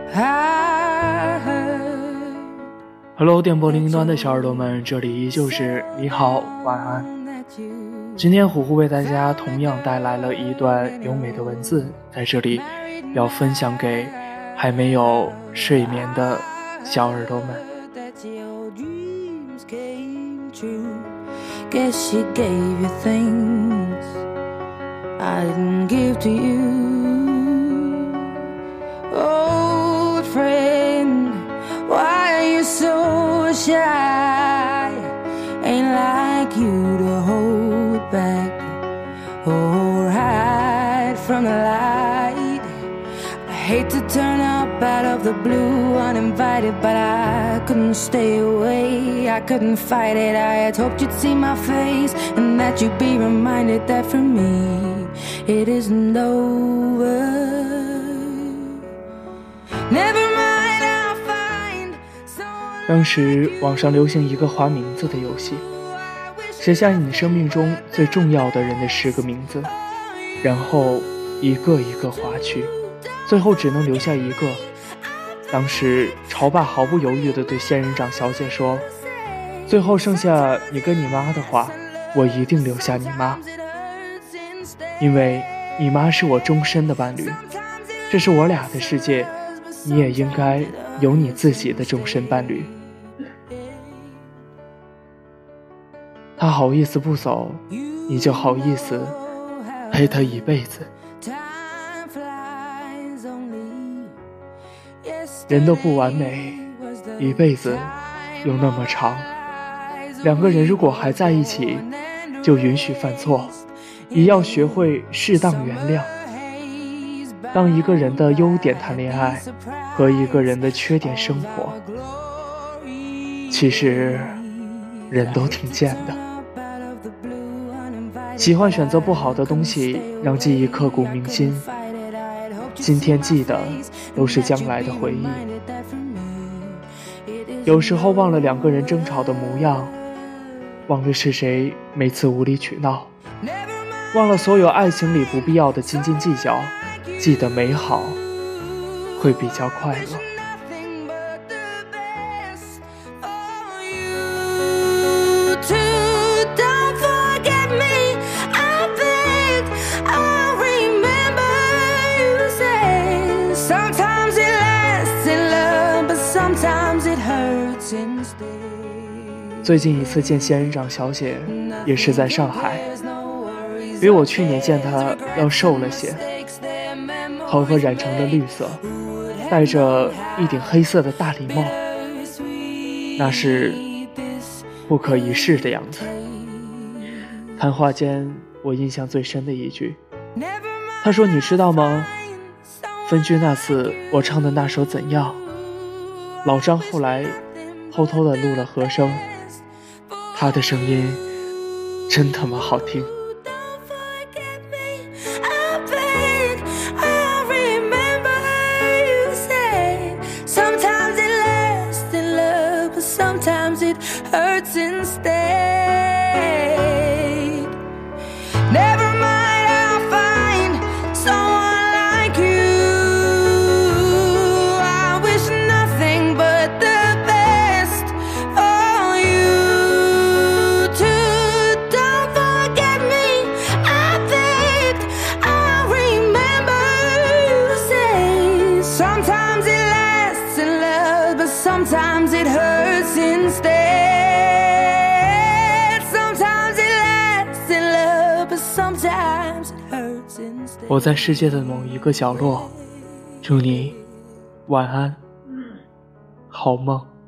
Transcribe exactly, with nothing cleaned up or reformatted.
Hello， 电波另一端的小耳朵们，这里依旧是你好晚安。今天虎虎为大家同样带来了一段优美的文字，在这里要分享给还没有睡眠的小耳朵们。 Guess she gave you things I didn't give to you. Old friend, why are you so shy? Ain't like you to hold back or hide from the light. I hate to turn up out of the blue uninvited, but I couldn't stay away, I couldn't fight it. I had hoped you'd see my face and that you'd be reminded that for me it isn't over. Never mind, I'll find someone. 当时网上流行一个划名字的游戏，写下你生命中最重要的人的十个名字，然后一个一个划去，最后只能留下一个。当时潮爸毫不犹豫地对仙人掌小姐说，最后剩下你跟你妈的话，我一定留下你妈，因为你妈是我终身的伴侣，这是我俩的世界，你也应该有你自己的终身伴侣。他好意思不走，你就好意思陪他一辈子。人都不完美，一辈子又那么长，两个人如果还在一起，就允许犯错，也要学会适当原谅。当一个人的优点谈恋爱，和一个人的缺点生活，其实人都挺贱的。喜欢选择不好的东西，让记忆刻骨铭心，今天记得都是将来的回忆。有时候忘了两个人争吵的模样，忘了是谁每次无理取闹，忘了所有爱情里不必要的斤斤计较，记得美好会比较快乐。最近一次见仙人掌小姐也是在上海，比我去年见她要瘦了些，头发染成了绿色，戴着一顶黑色的大礼帽，那是不可一世的样子。谈话间我印象最深的一句，她说，你知道吗，分居那次我唱的那首怎样，老张后来偷偷地录了和声，他的声音真他妈好听。 Sometimes it hurts instead. Sometimes it lasts in love, but sometimes it hurts instead. 我在世界的某一个角落，祝你晚安，好梦。